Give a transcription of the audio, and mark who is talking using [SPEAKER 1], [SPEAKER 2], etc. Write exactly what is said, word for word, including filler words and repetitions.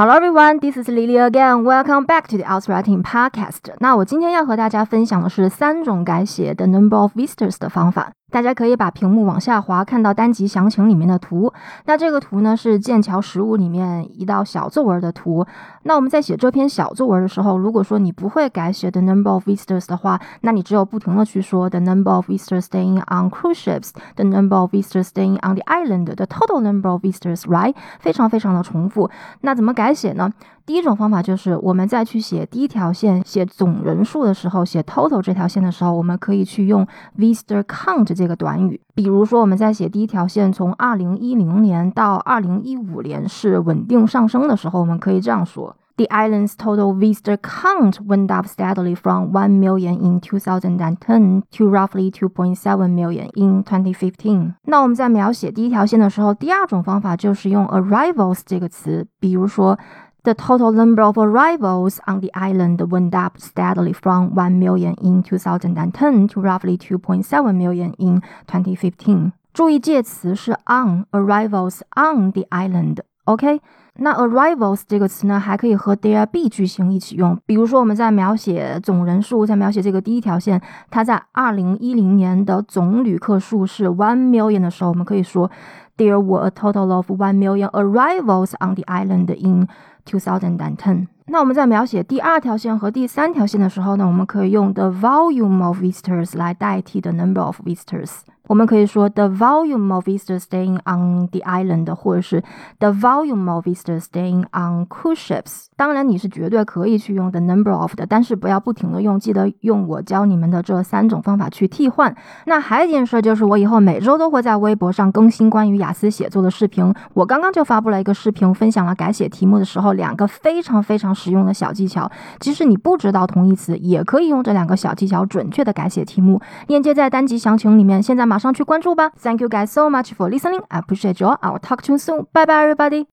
[SPEAKER 1] Hello everyone, this is Lily again. Welcome back to the Outwriting Podcast. 那我今天要和大家分享的是三种改写 the number of visitors 的方法。大家可以把屏幕往下滑，看到单集详情里面的图。那这个图呢是剑桥实务里面一道小作文的图。那我们在写这篇小作文的时候，如果说你不会改写 the number of visitors 的话，那你只有不停的去说 the number of visitors staying on cruise ships, the number of visitors staying on the island, the total number of visitors, right? 非常非常的重复。那怎么改写呢？第一种方法就是我们在去写第一条线写总人数的时候，写 total 这条线的时候，我们可以去用 visitor count 这个短语。比如说我们在写第一条线从二零一零年到二零一五年是稳定上升的时候，我们可以这样说：The island's total visitor count went up steadily from one million in two thousand ten to roughly two point seven million in twenty fifteen. 那我们在描写第一条线的时候，第二种方法就是用 arrivals 这个词，比如说The total number of arrivals on the island went up steadily from one million in two thousand ten to roughly two point seven million in twenty fifteen. 注意介词是 on, arrivals on the island, OK? 那 arrivals 这个词呢，还可以和 there be 句型一起用。比如说我们在描写总人数，在描写这个第一条线，它在二零一零年的总旅客数是 one million 的时候，我们可以说 There were a total of one million arrivals on the island in two thousand ten. 那我们在描写第二条线和第三条线的时候呢，我们可以用 the volume of visitors 来代替 the number of visitors。我们可以说 the volume of visitors staying on the island 或者是 the volume of visitors staying on cruise ships。 当然你是绝对可以去用 the number of 的，但是不要不停的用，记得用我教你们的这三种方法去替换。那还有一件事就是我以后每周都会在微博上更新关于雅思写作的视频。我刚刚就发布了一个视频，分享了改写题目的时候两个非常非常实用的小技巧，即使你不知道同义词也可以用这两个小技巧准确的改写题目。链接在单集详情里面，现在马上去关注吧。Thank you guys so much for listening. I appreciate you all. I'll talk to you soon. Bye bye everybody.